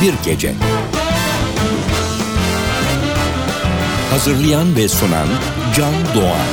Binbir Gece. Hazırlayan ve sunan Can Doğan.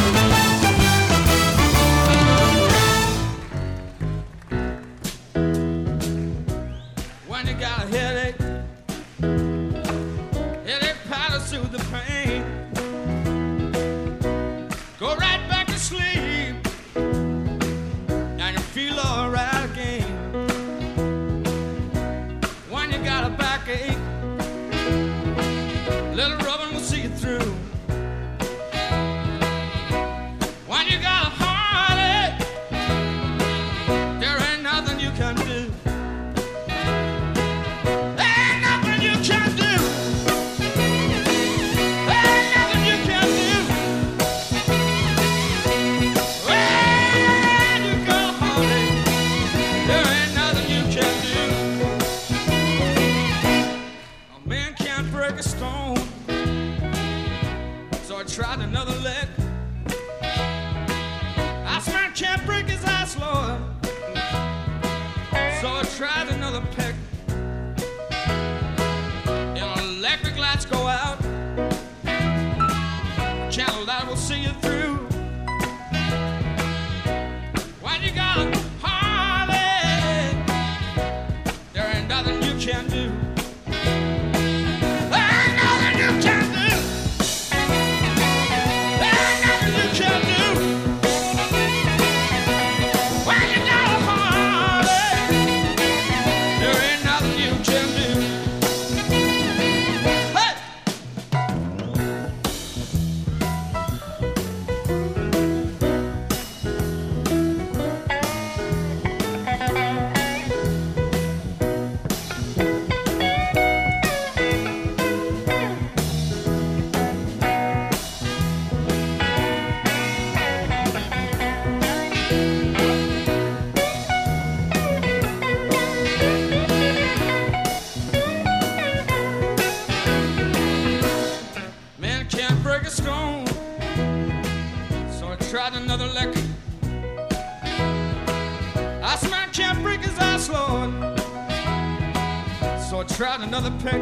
Another peck.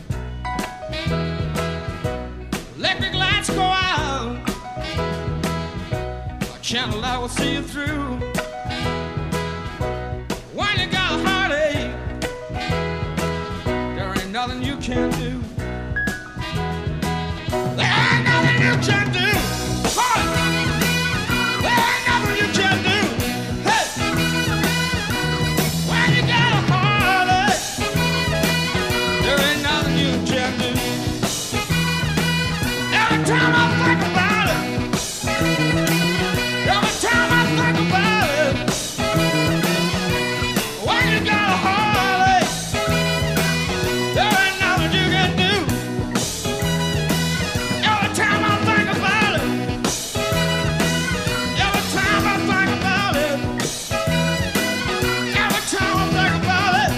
Electric lights go out. A channel I will see you through. When you got a heartache, there ain't nothing you can do. There ain't nothing you can do. There ain't nothing you can do. Hey! When you got a heartache, there ain't nothing you can do. Every time I think about it, every time I think about it, when you got a heartache, there ain't nothing you can do. Every time I think about it, every time I think about it, every time I think about it.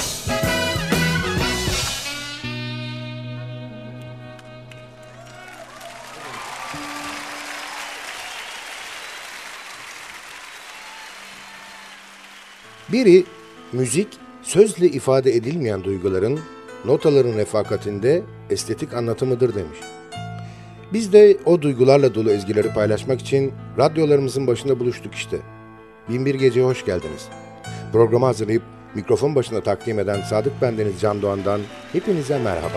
Biri, müzik, sözle ifade edilmeyen duyguların, notaların refakatinde estetik anlatımıdır demiş. Biz de o duygularla dolu ezgileri paylaşmak için radyolarımızın başında buluştuk işte. Binbir Gece'ye hoş geldiniz. Programı hazırlayıp mikrofon başında takdim eden Sadık Bendeniz Can Doğan'dan hepinize merhaba.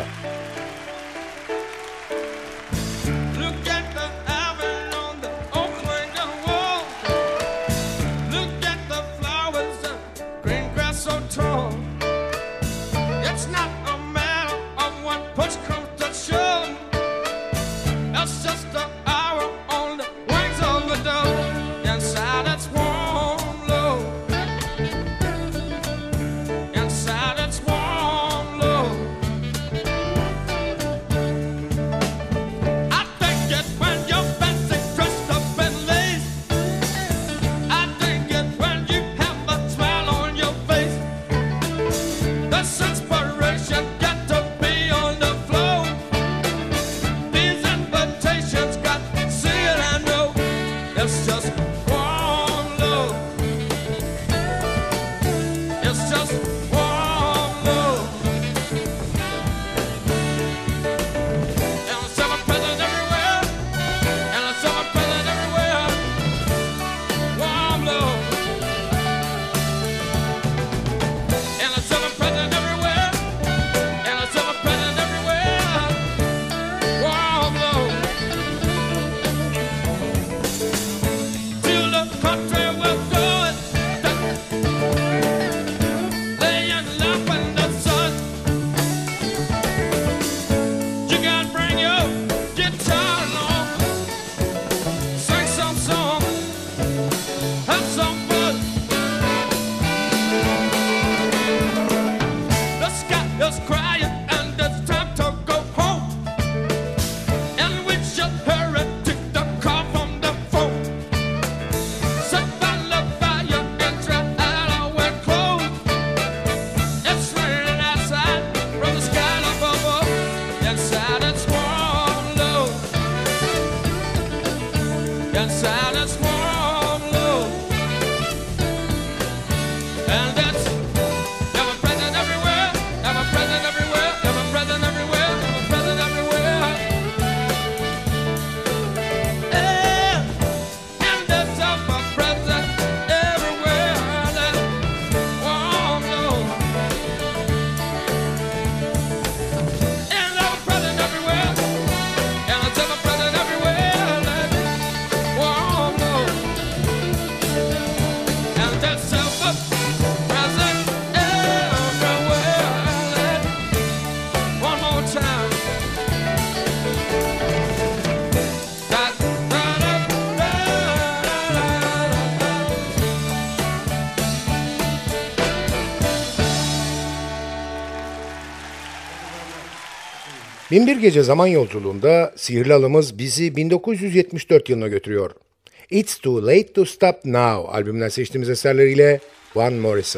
Binbir Gece zaman yolculuğunda sihirli alımız bizi 1974 yılına götürüyor. It's Too Late to Stop Now albümünden seçtiğimiz eserleriyle Van Morrison.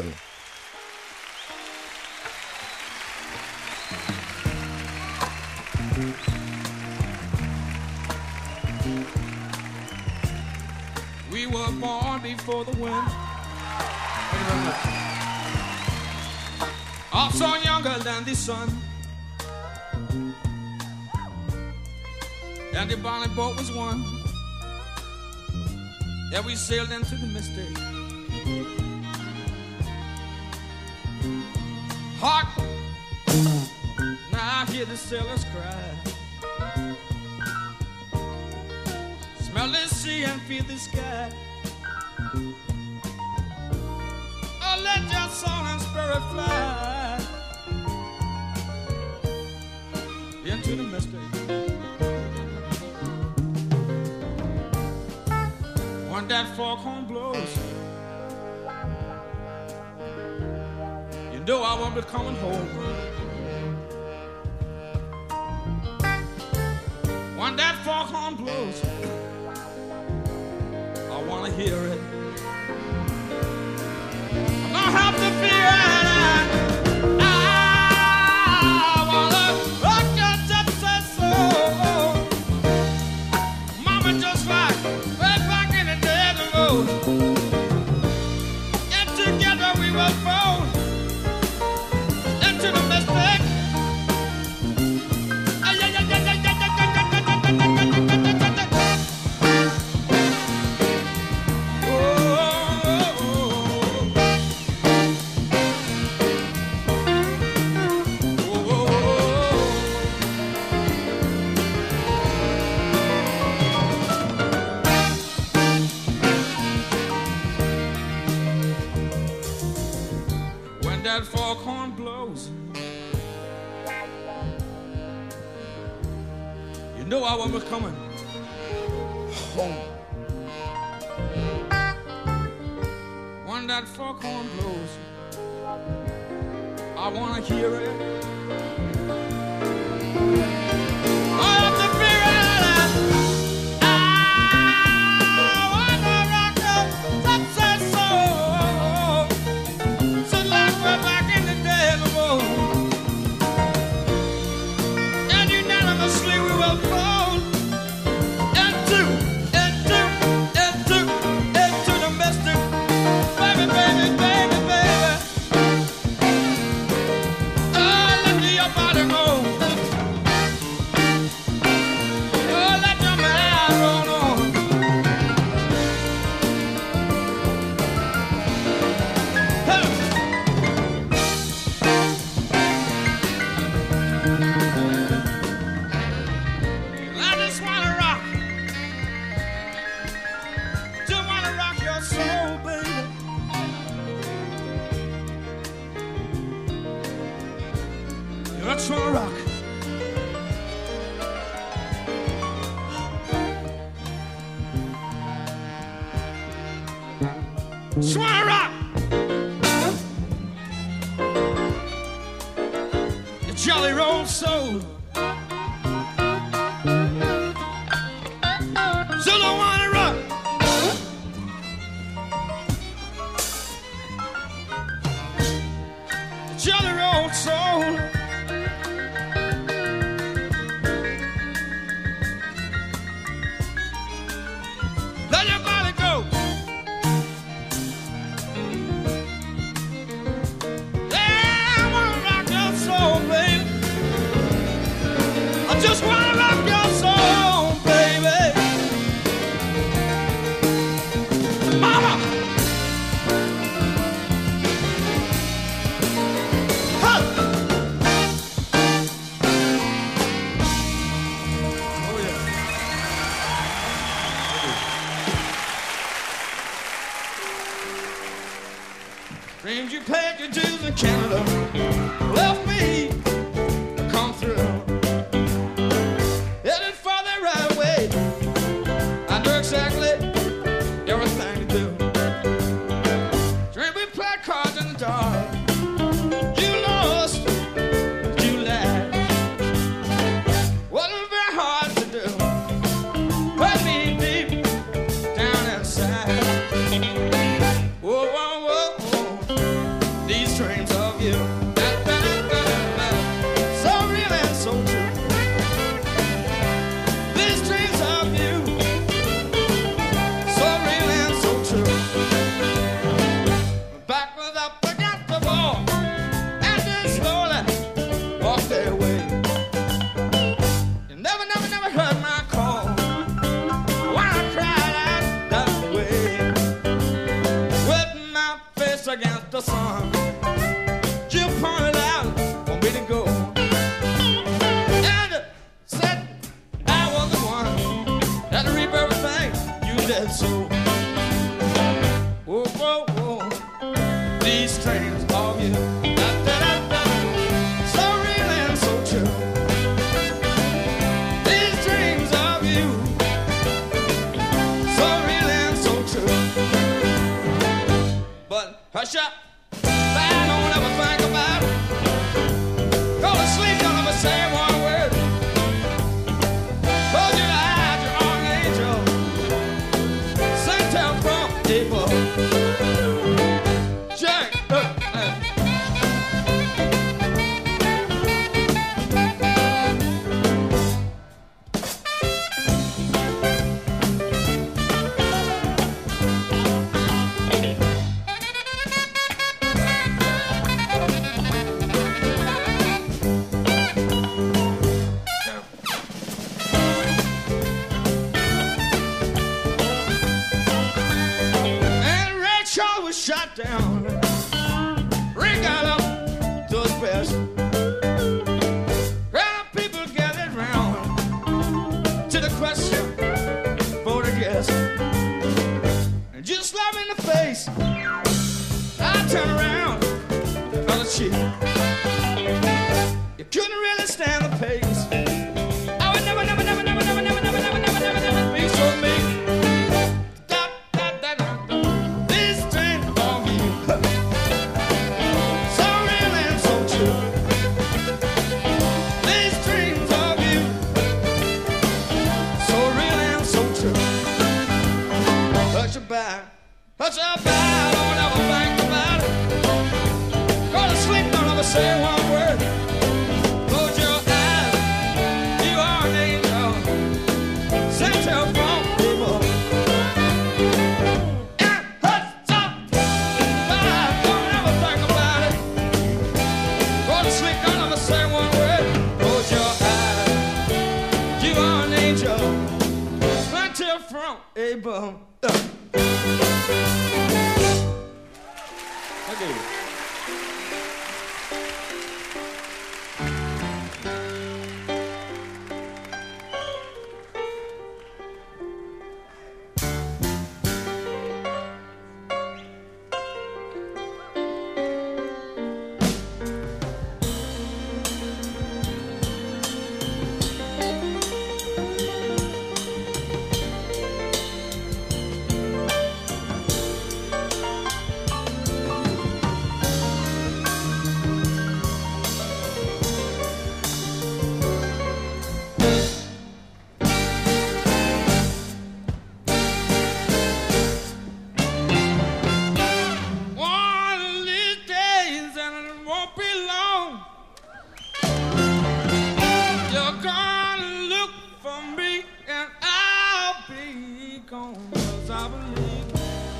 We were born before the wind. Also younger than the sun. And the bonnet boat was one. And we sailed into the mystic. Hark! Now I hear the sailors cry. Smell the sea and feel the sky. Oh, let your soul and spirit fly into the mystic. When that foghorn blows, you know I won't be coming home. When that foghorn blows, I wanna hear it. I don't have to fear it. I wanna rock your gypsy soul. Mama just like way back in the day of the road. And together we will fall into the mystic. That foghorn blows, you know I will be coming home. When that foghorn blows, I wanna hear it. I have to figure it out. I wanna rock the gypsy soul. So like we're back in the day of the road. And unanimously we will fall into the mystic. Baby, baby, baby, baby. Oh, let your body go. Oh, let your mind roll on. Hey. I just wanna rock. Just wanna rock your soul, baby. I just wanna rock. Just wanna rock. Your jolly roll soul. Still don't wanna rock. Jolly roll soul. Let your body go. Yeah, I wanna rock your soul, baby. I just wanna rock your soul, baby. Mama! Huh. Oh, yeah. Dreams you paid your dues in Canada left me to come through. Headed for the right way. I know exactly everything to do. Dream we played cards in the dark. You lost, you laughed. at the sun. Jim pointed out for me to go. And said I was the one that reap everything you did so. Whoa, whoa, whoa, these strings of you, da-da-da-da, so real and so true. These strings of you, so real and so true. But hush up, I don't ever think about it. Go to sleep, don't ever say one word. Close your eyes, you're on an angel. Sent out from people. Jack, and Ray Charles was shot down. Ray got up to his best. Crowd of people gathered round to the question for the guest. And just slap me in the face, I turned around on the cheek. You couldn't really stand the pace. I would never, never, never, never, never, never, never, never, never, never, never be so mean. Da, da, da, da, da. This thing of you, so real and so true. These dreams of you, so real and so true. Hush about, don't ever think about it. Go to sleep, don't ever say one word. Close your eyes, you are an angel. Sent out from people. And hush up, don't ever think about it. Go to sleep, don't ever say one word. Close your eyes, you are an angel. Sent out from Abel. Okay. One of these days, and it won't be long, you're gonna look for me, and I'll be gone. 'Cause I believe.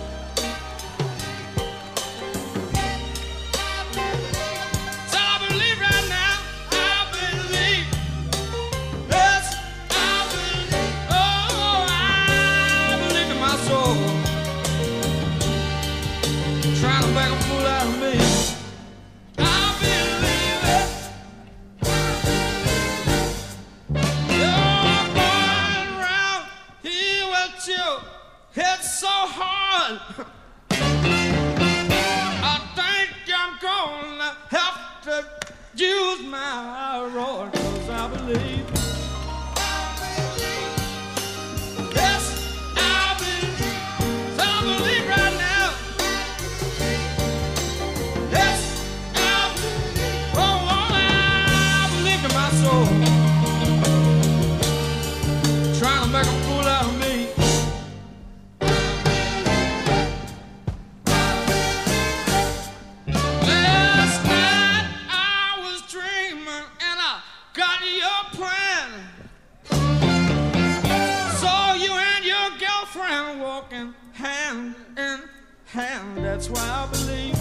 So I believe right now, I believe. Yes, I believe. Oh, I believe in my soul. Trying to make a fool out of me. I believe it. You're going round here with your head so hard. I think I'm gonna have to use my road. 'Cause I believe. Yes, I believe. So I believe right now. Yes, I believe. Oh, I believe in my soul. Trying to make a fool out of me. Last night I was dreaming and I got your plan. Saw you and your girlfriend walking hand in hand. That's why I believe.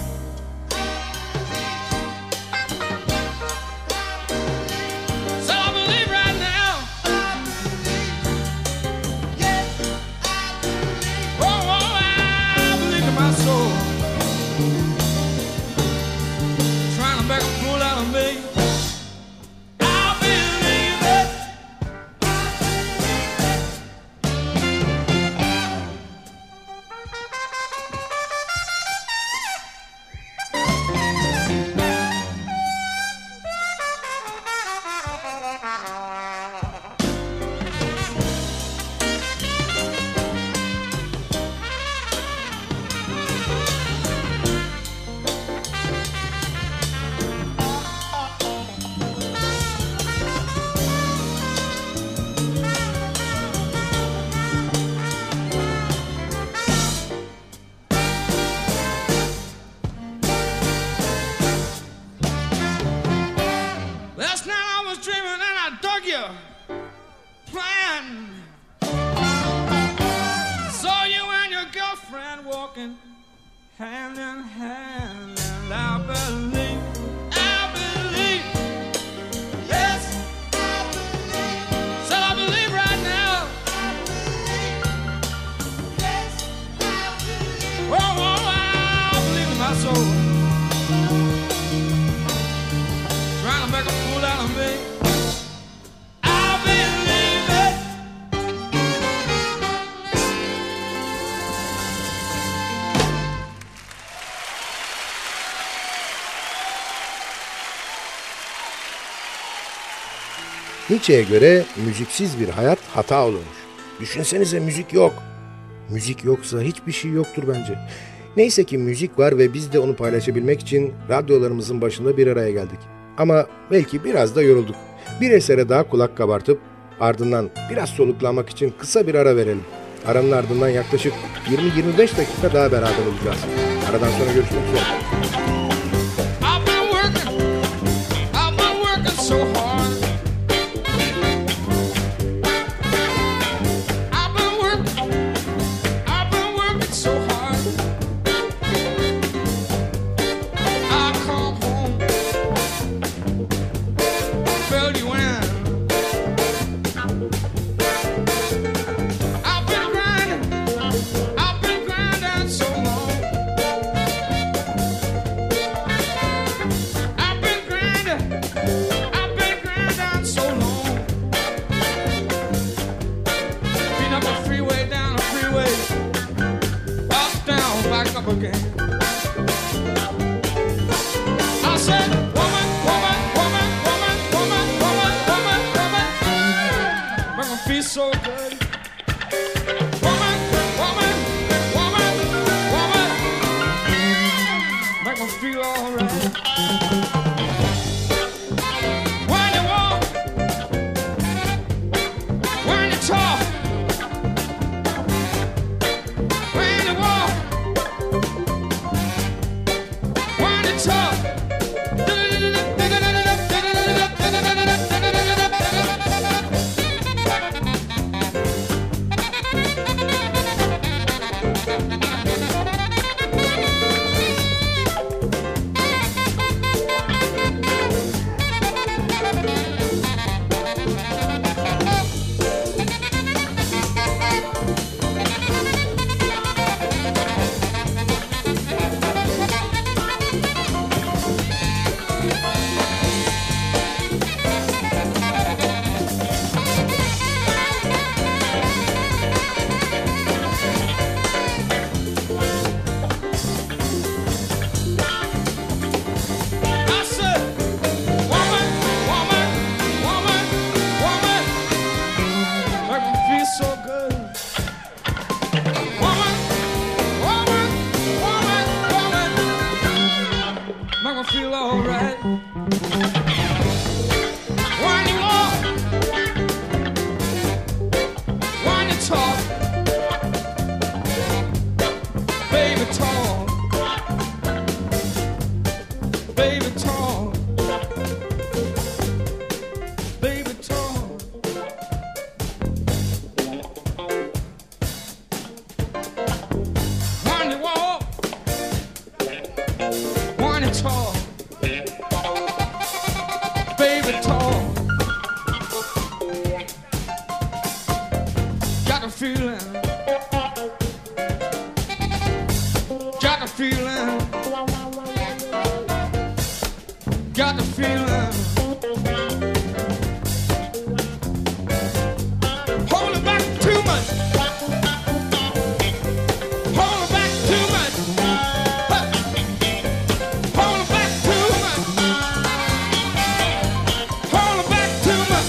So I believe right now. Oh, I believe in my soul. Nietzsche'ye göre müziksiz bir hayat hata olurmuş. Düşünsenize müzik yok. Müzik yoksa hiçbir şey yoktur bence. Neyse ki müzik var ve biz de onu paylaşabilmek için radyolarımızın başında bir araya geldik. Ama belki biraz da yorulduk. Bir esere daha kulak kabartıp ardından biraz soluklanmak için kısa bir ara verelim. Aranın ardından yaklaşık 20-25 dakika daha beraber olacağız. Aradan sonra görüşmek üzere. So good. Woman, woman, woman, woman, make me feel alright. When you walk, when you talk, when you walk, when you talk. Feel alright when you walk, when you talk, baby talk, baby talk, baby talk. When you walk, when you talk. Baby talk, got a feeling, got a feeling, got a feeling. Hold it back too much, hold it back too much, hold it back too much. Hold it back too much.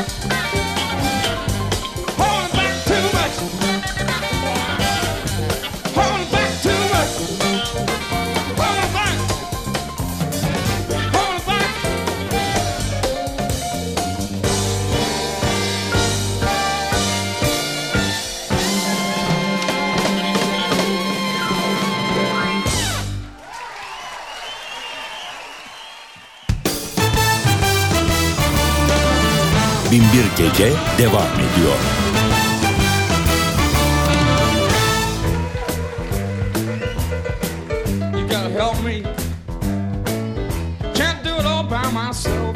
Hold it back too much. Hold it back too much. Hold it back. Hold it back. Binbir Gece devam ediyor. You gotta help me. Can't do it all by myself.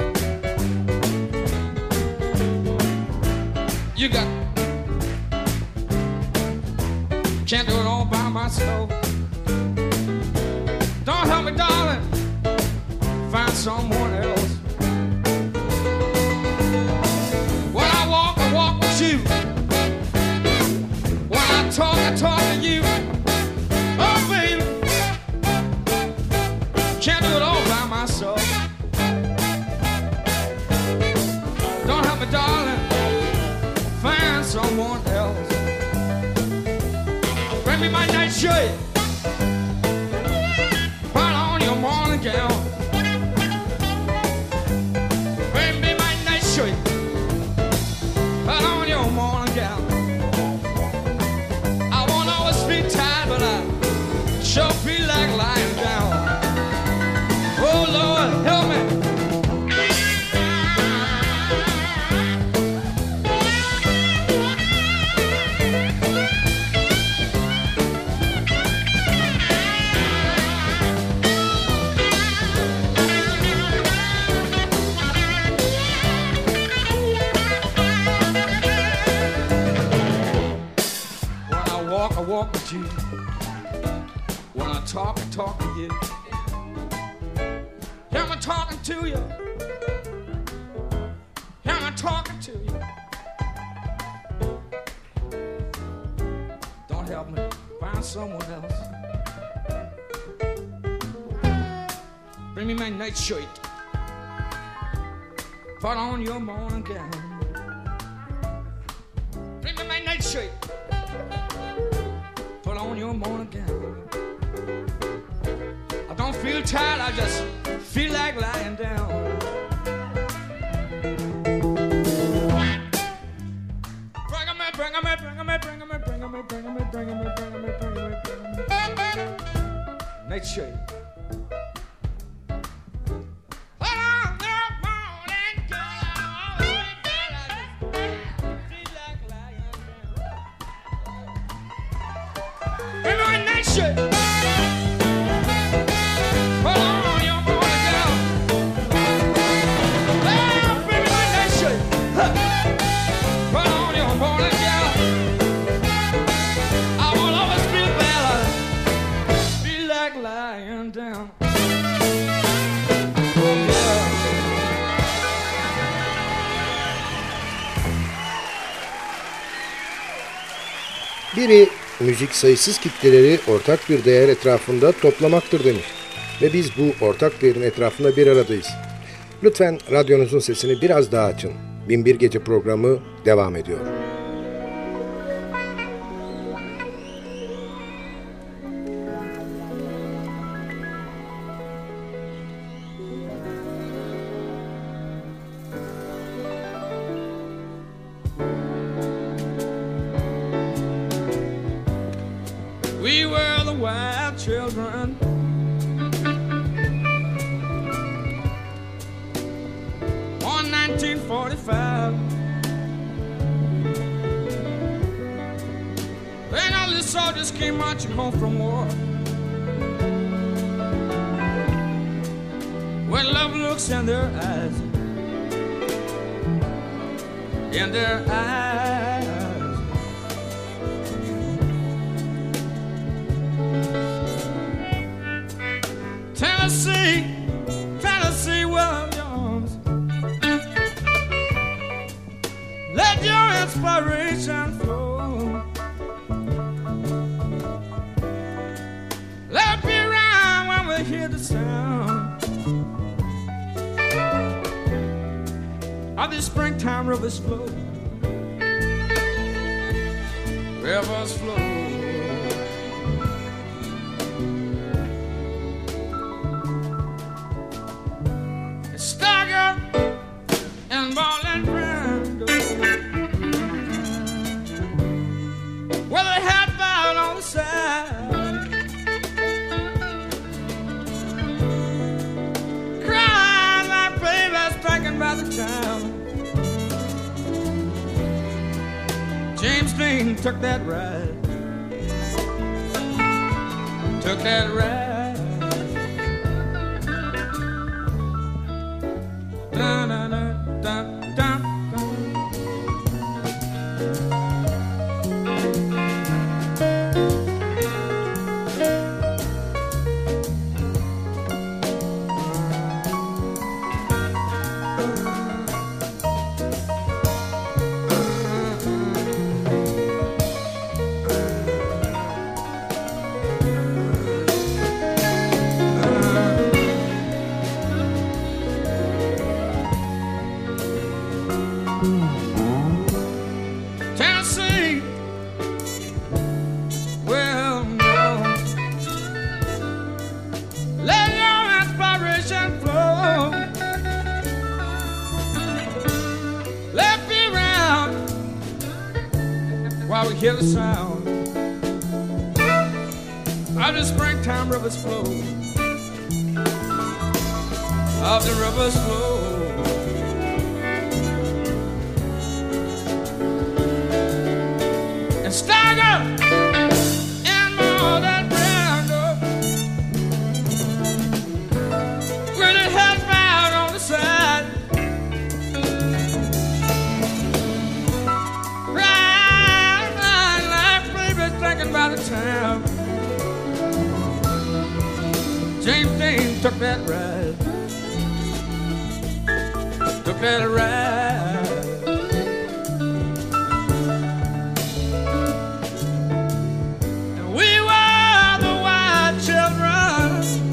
You got. Can't do it all by myself. Don't help me, darling. Find someone else. When I walk with you. When I talk to you. Oh, baby. Can't do it all by myself. Don't help me, shirt, put on your morning gown. Bring me my night shirt, put on your morning gown. I won't always be tired, but I sure feel like lying down. Oh Lord, help me. I walk with you. When I talk with you. Hear me talking to you. Hear me talking to you. Don't help me find someone else. Bring me my night shirt. Put on your morning gown. Bring me my night shirt. Put on your morning gown. I don't feel tired, I just feel like lying down. Bring 'em in, bring 'em in, bring 'em in, bring 'em in, bring 'em in, bring 'em in, bring 'em in, bring 'em in, bring 'em in, bring 'em in. Night shirt. Biri müzik sayısız kitleleri ortak bir değer etrafında toplamaktır demiş. Ve biz bu ortak değerin etrafında bir aradayız. Lütfen radyonuzun sesini biraz daha açın. Binbir Gece programı devam ediyor. We were the wild children. On 1945. Then all the soldiers came marching home from war. When love looks in their eyes, in their eyes. Tennessee, Tennessee Williams, let your inspiration flow. Let it be around when we hear the sound of the springtime rivers flow. Rivers flow. James Dean took that ride. Took that ride. Da, da, da, da, da, da. hear the sound of the springtime rivers flow, of the rivers flow. And stagger in all that ground up, with it head bowed on the side, right like baby thinking about the town. James Dean took that ride, took that ride. And we were the white children,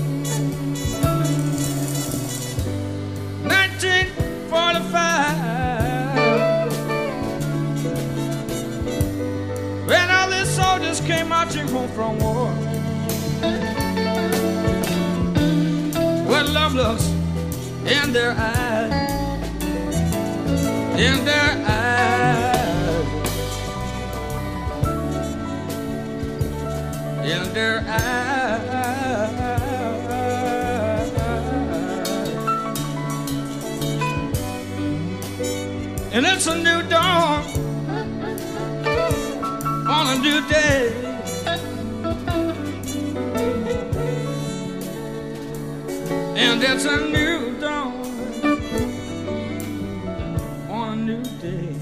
1945, when all these soldiers came marching home from war. What love looks in their eyes, in their eyes, in their eyes. And it's a new dawn on a new day. And it's a new dawn on a new day.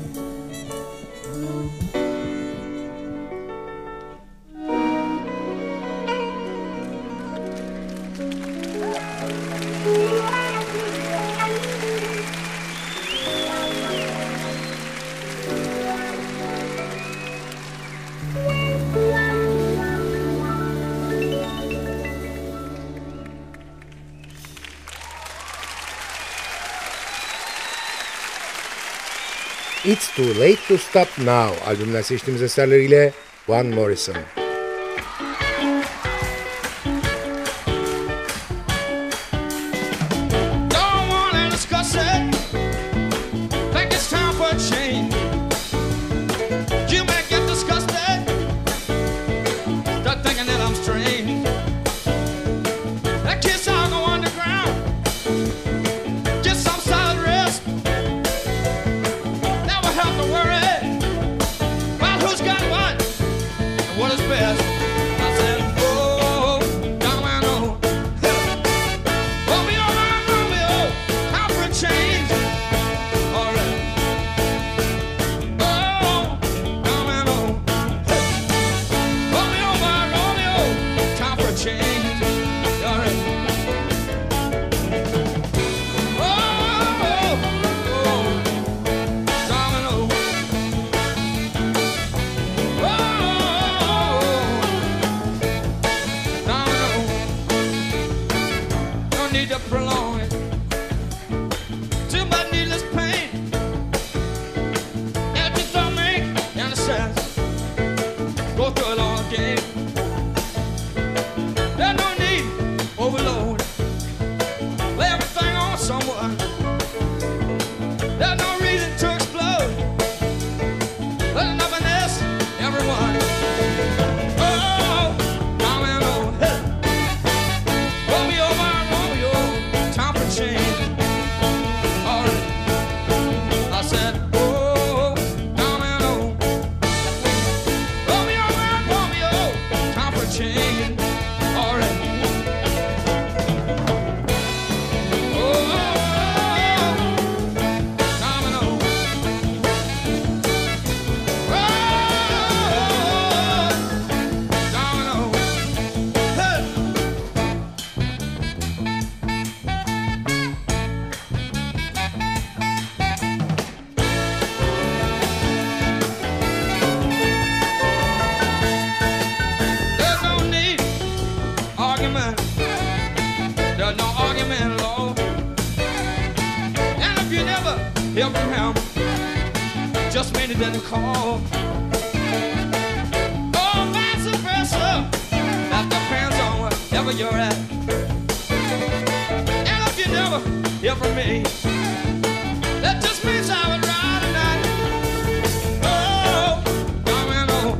It's Too Late to Stop Now albümünden seçtiğimiz eserleriyle Van Morrison. Don't wanna discuss it. Think it's time for a change. You may get disgusted, start thinking that I'm strange. That kiss I'll go underground, get some solid rest. Never have to worry about who's got what and what is best. I said, oh, young man, oh, Romeo, Romeo, time for a change. All right. Oh, young man, oh, Romeo, Romeo, time for a change. All right. Oh, domino. Domino. No need to prolong it. Too much needless pain. It just don't make any sense. Go through it all again. There's no need overload. Lay everything on someone. There's no reason to explode. Let nothing else, everyone. Oh, domino. Romeo, my Romeo, time for change. All right. I said, oh, domino. Romeo, my Romeo, time for change. All right. Oh, domino. Oh, domino. Hey. There's no need argument. There's no argument at all. And if you never hear from him, just mean he didn't call. Oh, vice versa. That depends on wherever you're at. And if you never hear from me, that just means I would ride tonight. Oh, domino.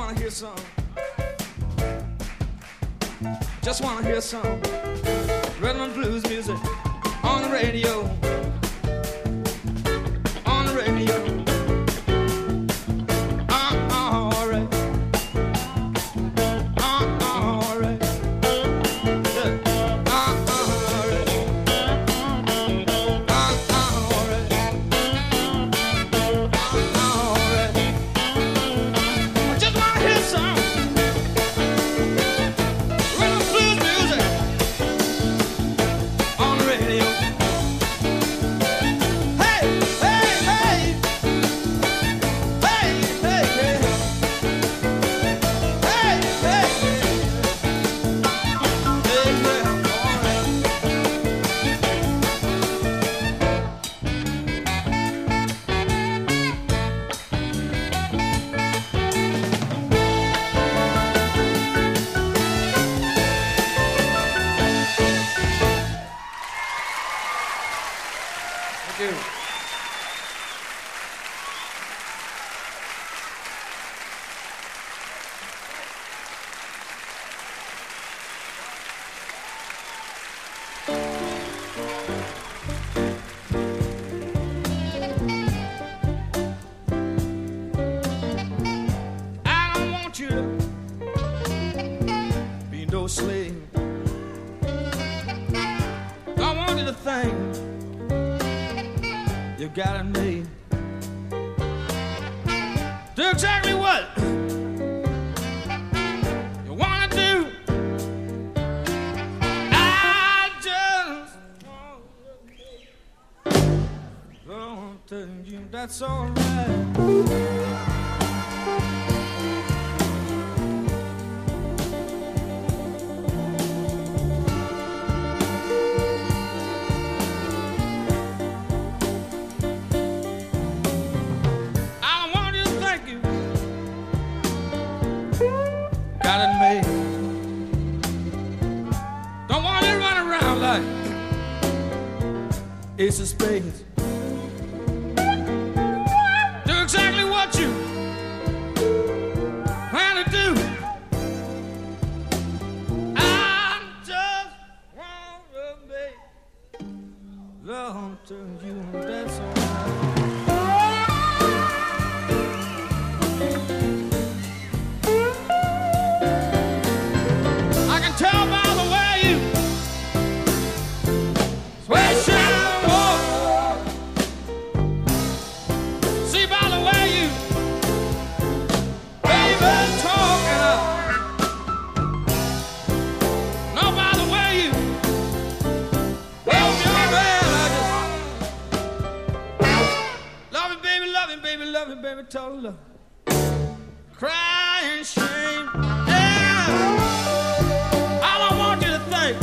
wanna hear some. Just wanna hear some rhythm and blues music on the radio. On the radio. All right. All right. Slave. I want you to think you got it made. Do exactly what you want to do. I just want to tell you that's all right. Ace of spades. Do exactly what you plan to do. I just want to make love to you. That's all right. I can tell by the way you swish it. Baby, told her, crying shame. Yeah. I don't want you to think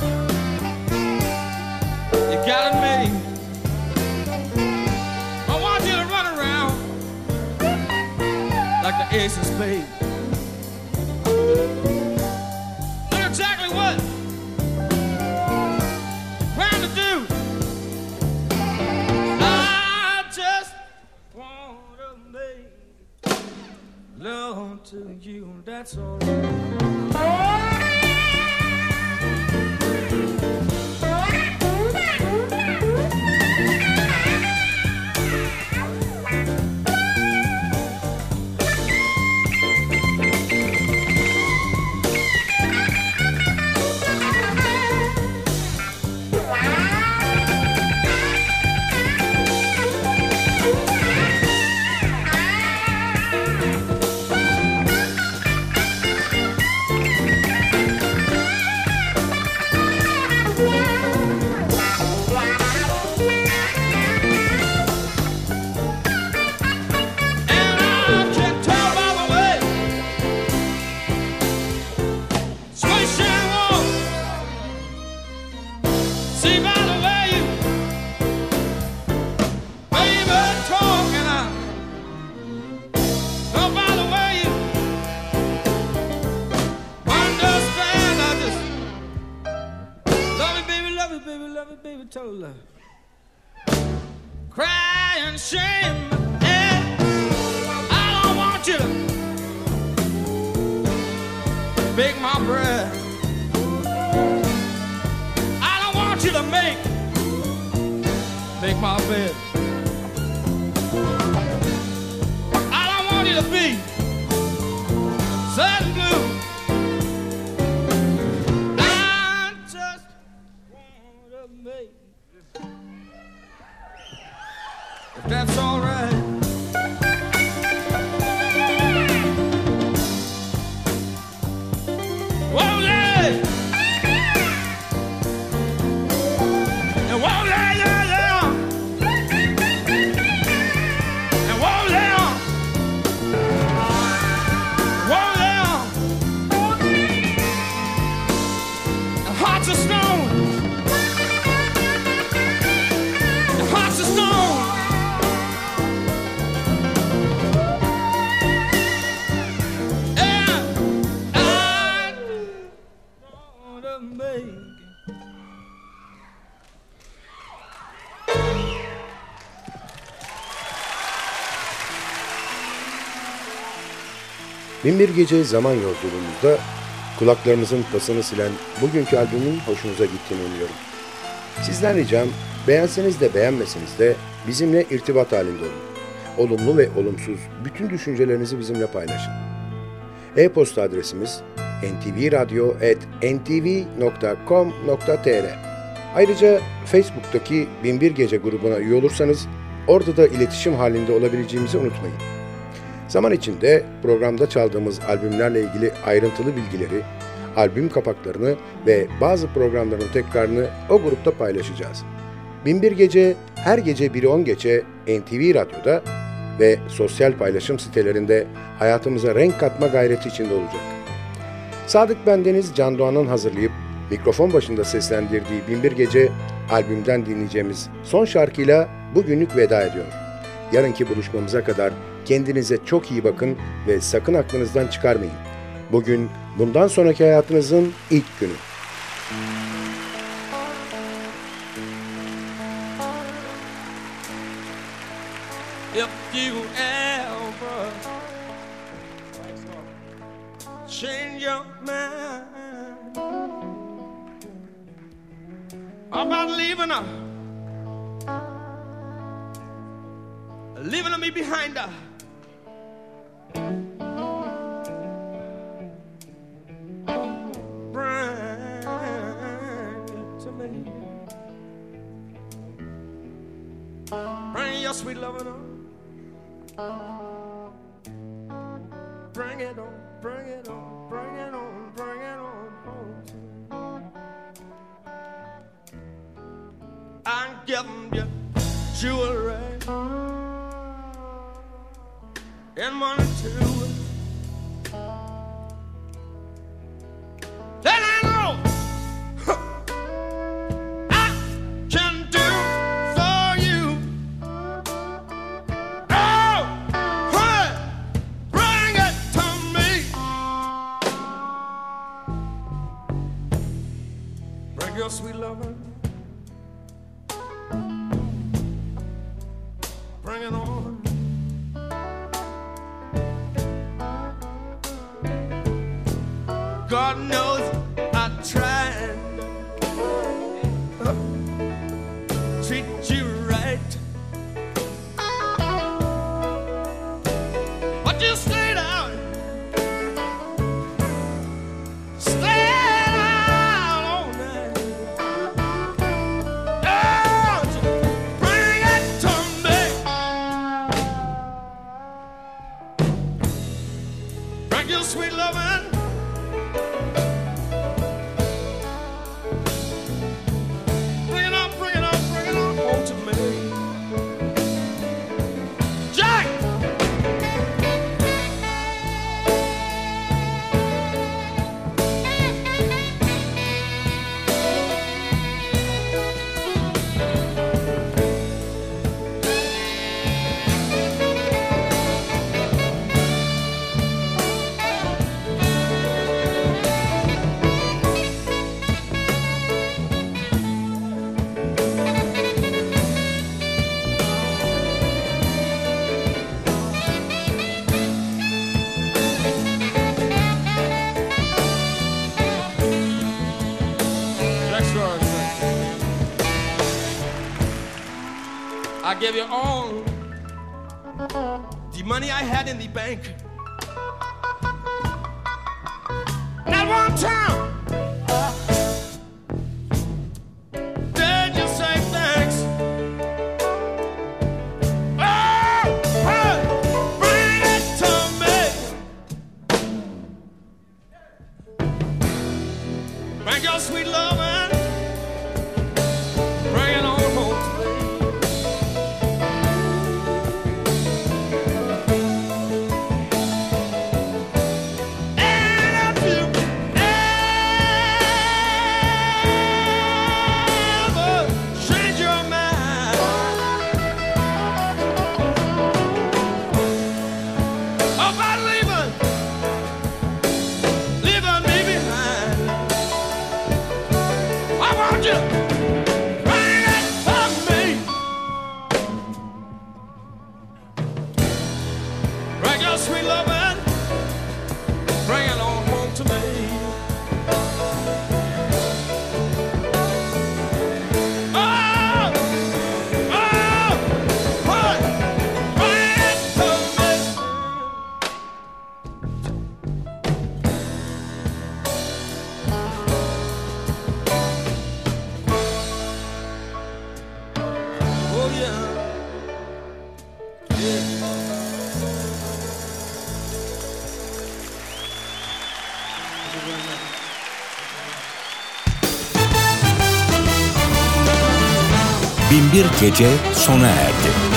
you got it made. I want you to run around like the ace of spades. Do exactly what you're trying to do. I just want love to you, that's all right. Told her, crying shame. Yeah. I don't want you to bake my bread. I don't want you to make my bed. I don't want you to be sad and blue. I just want to make it, if that's all right. Binbir Gece zaman yolculuğumuzda kulaklarımızın pasını silen bugünkü albümün hoşunuza gittiğini umuyorum. Sizden ricam, beğenseniz de beğenmeseniz de bizimle irtibat halinde olun. Olumlu ve olumsuz bütün düşüncelerinizi bizimle paylaşın. E-posta adresimiz ntvradio@ntv.com.tr. Ayrıca Facebook'taki Binbir Gece grubuna üye olursanız orada da iletişim halinde olabileceğimizi unutmayın. Zaman içinde programda çaldığımız albümlerle ilgili ayrıntılı bilgileri, albüm kapaklarını ve bazı programların tekrarını o grupta paylaşacağız. Binbir Gece her gece 1'i 10 geçe NTV Radyo'da ve sosyal paylaşım sitelerinde hayatımıza renk katma gayreti içinde olacak. Sadık Bendeniz Can Doğan'ın hazırlayıp mikrofon başında seslendirdiği Binbir Gece albümden dinleyeceğimiz son şarkıyla bugünlük veda ediyor. Yarınki buluşmamıza kadar kendinize çok iyi bakın ve sakın aklınızdan çıkarmayın. Bugün bundan sonraki hayatınızın ilk günü. If you ever change your mind about leaving me behind her, bring it to me. Bring your sweet loving on. Bring it on, bring it on, bring it on, bring it on home to me. I'm giving you jewelry and money too. Then I know I can do for you. Oh, hey, bring it to me. Bring your sweet lover. Bring it on. God knows I tried to treat you right, but you stayed out all night. Oh, bring it to me. Bring your sweet loving. give you all the money I had in the bank. Not one time did you say thanks. Oh, hey, bring it to me. Bring your sweet love and bring it on home to me. And if you ever change your mind about leaving me behind, I want you bring it for me. Bring your sweet love and bring it on home to me. Oh, hey, bring it to me. Oh yeah. Binbir Gece sona erdi.